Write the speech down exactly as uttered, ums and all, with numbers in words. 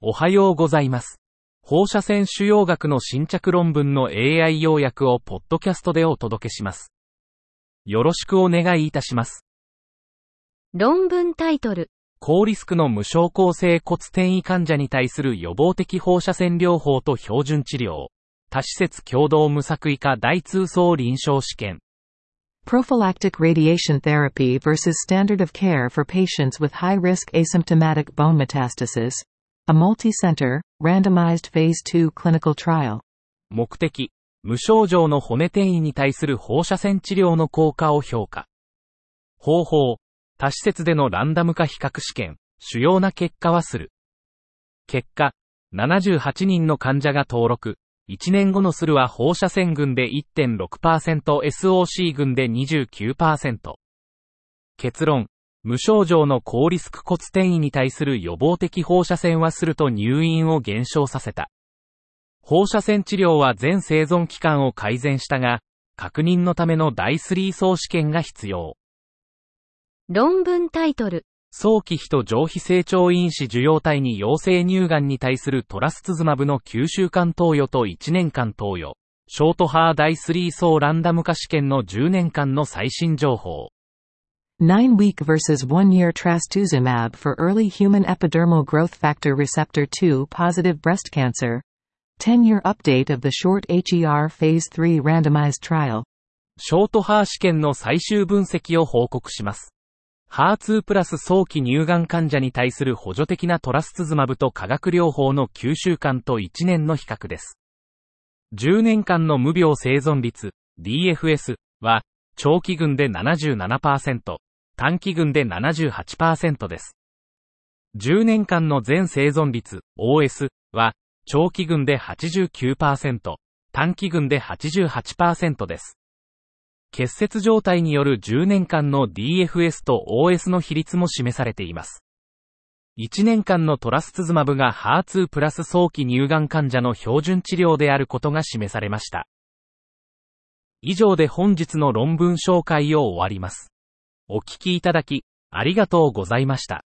おはようございます。放射線腫瘍学の新着論文の エーアイ 要約をポッドキャストでお届けします。よろしくお願いいたします。 論文タイトル。 高リスクの無症候性骨転移患者に対する予防的放射線療法と標準治療。多施設共同無作為化大通層臨床試験。 Prophylactic radiation therapy versus standard of care for patients with high-risk asymptomatic bone metastasis.A multi-center, randomized phase two clinical trial. 目的、無症状の骨転移に対する放射線治療の効果を評価。方法、多施設でのランダム化比較試験、主要な結果はする。結果、ななじゅうはちにんの患者が登録、いちねんごのするは放射線群で いってんろくパーセント、エスオーシー 群で にじゅうきゅうパーセント。結論。無症状の高リスク骨転移に対する予防的放射線はすると入院を減少させた。放射線治療は全生存期間を改善したが、確認のためのだいさん層試験が必要。 論文タイトル。 早期非と上皮成長因子受容体に陽性乳がんに対するトラスツズマブのきゅうしゅうかん投与といちねんかん投与。ショートハーだいさん層ランダム化試験のじゅうねんかんの最新情報。 nine-week versus one-year trastuzumab for early human epidermal growth factor receptor two positive breast cancer. ten-year update of the short エイチイーアール phase three randomized trial. ショートハー試験の最終分析を報告します。ハーツー プラス早期乳がん患者に対する補助的なトラスツズマブと化学療法のきゅうしゅうかんといちねんの比較です。じゅうねんかんの無病生存率 ディーエフエス は長期群で ななじゅうななパーセント、短期群で ななじゅうはちパーセント です。じゅうねんかんの全生存率 オーエス は長期群で はちじゅうきゅうパーセント、短期群で はちじゅうはちパーセント です。結節状態によるじゅうねんかんの ディーエフエス と オーエス の比率も示されています。いちねんかんのトラスツズマブが ハーツー プラス早期乳がん患者の標準治療であることが示されました。以上で本日の論文紹介を終わります。お聞きいただき、ありがとうございました。